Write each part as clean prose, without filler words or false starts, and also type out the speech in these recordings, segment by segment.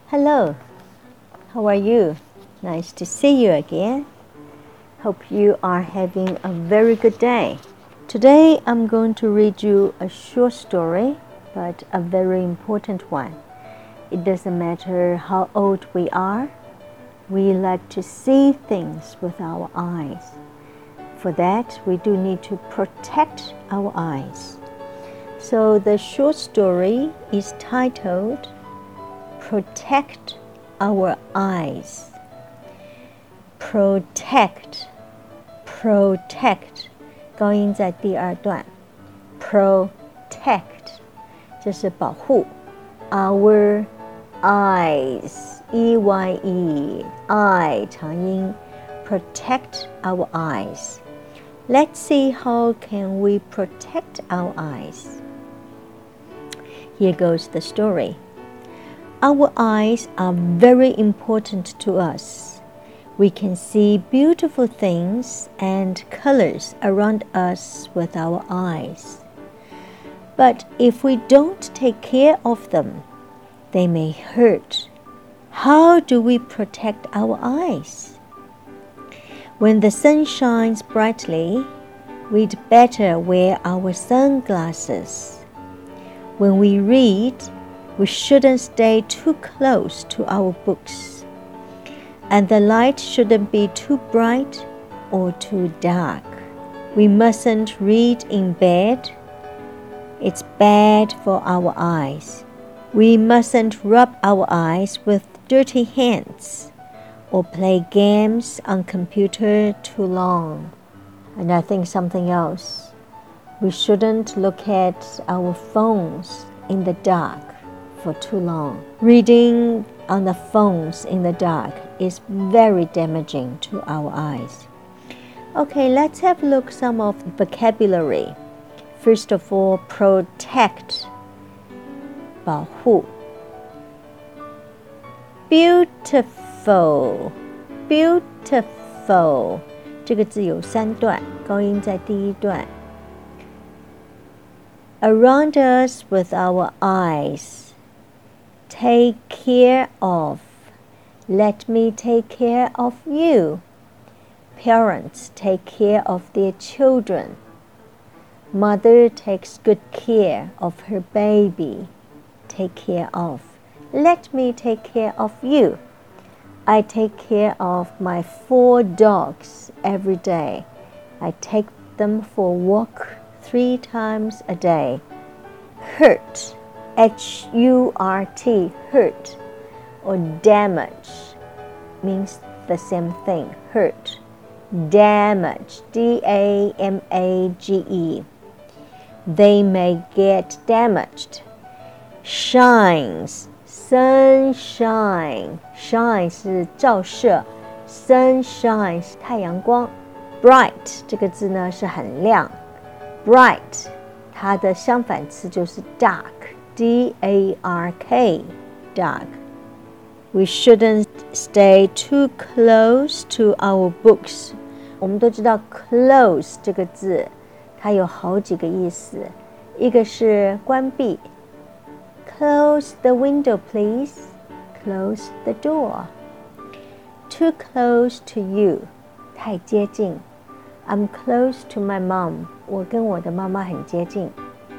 Hello, how are you? Nice to see you again. Hope you are having a very good day. Today I'm going to read you a short story, but a very important one. It doesn't matter how old we are, we like to see things with our eyes. For that, we do need to protect our eyes. So the short story is titled Protect Our Eyes. Protect, protect, 高音在第二段。Protect 这是保护。Our eyes, E-Y-E, I 长音。Protect our eyes. Let's see how can we protect our eyes. Here goes the story.Our eyes are very important to us. We can see beautiful things and colors around us with our eyes. But if we don't take care of them, they may hurt. How do we protect our eyes? When the sun shines brightly, we'd better wear our sunglasses. When we read,We shouldn't stay too close to our books. And the light shouldn't be too bright or too dark. We mustn't read in bed. It's bad for our eyes. We mustn't rub our eyes with dirty hands or play games on computer too long. And I think something else. We shouldn't look at our phones in the dark.For too long. Reading on the phones in the dark is very damaging to our eyes. Okay, let's have a look at some of the vocabulary. First of all, protect, 保护。Beautiful, beautiful 这个字有3段，高音在第1段。Around us with our eyes.Take care of. Let me take care of you. Parents take care of their children. Mother takes good care of her baby. Take care of. Let me take care of you. I take care of my 4 dogs every day. I take them for a walk 3 times a day. Hurt.Hurt, hurt, or damage means the same thing, hurt. Damage, D-A-M-A-G-E. They may get damaged. Shines, sunshine. Shine 是照射 sunshine 是太阳光 Bright 这个字呢是很亮 Bright 它的相反词就是 dark.D-A-R-K, dark. We shouldn't stay too close to our books. 我们都知道 close 这个字它有好几个意思，一个是关闭 Close the window, please. Close the door. Too close to you. 太接近 I'm close to my mom. 我跟我的妈妈很接近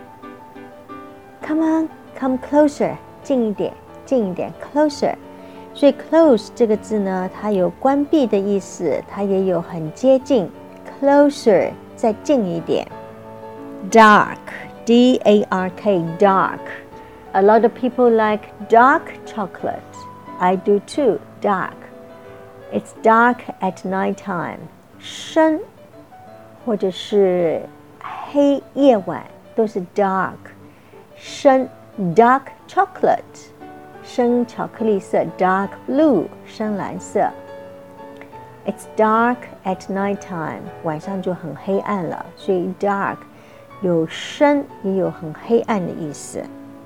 Come on, come closer. 近一点 closer. 所以 close 这个字呢，它有关闭的意思，它也有很接近 closer 再近一点 Dark, D-A-R-K, dark. A lot of people like dark chocolate. I do too, dark. It's dark at nighttime. 深或者是黑夜晚都是 dark深 dark chocolate 深巧克力色 dark blue 深蓝色 It's dark at nighttime 晚上就很黑暗了所以 dark 有深也有很黑暗的意思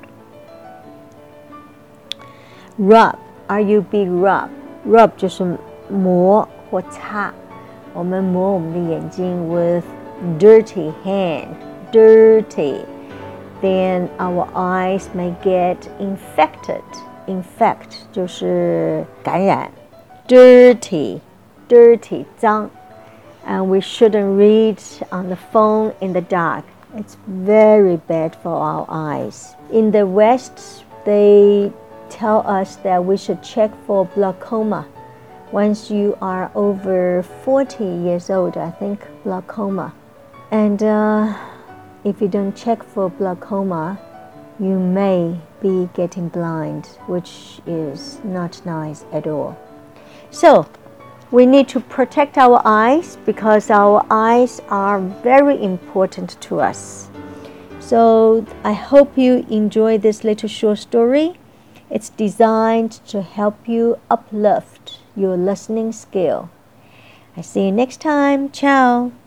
Rub R-U-B rub Rub 就是磨或擦我们磨我们的眼睛 with dirty hand dirty then our eyes may get infected infect 就是感染 dirty 脏 and we shouldn't read on the phone in the dark. It's very bad for our eyes. In the West, they tell us that we should check for glaucoma. Once you are over 40 years old, I think glaucoma. And if you don't check for glaucoma, you may be getting blind, which is not nice at all. So, we need to protect our eyes because our eyes are very important to us. So I hope you enjoy this little short story. It's designed to help you uplift your listening skill. I see you next time. Ciao.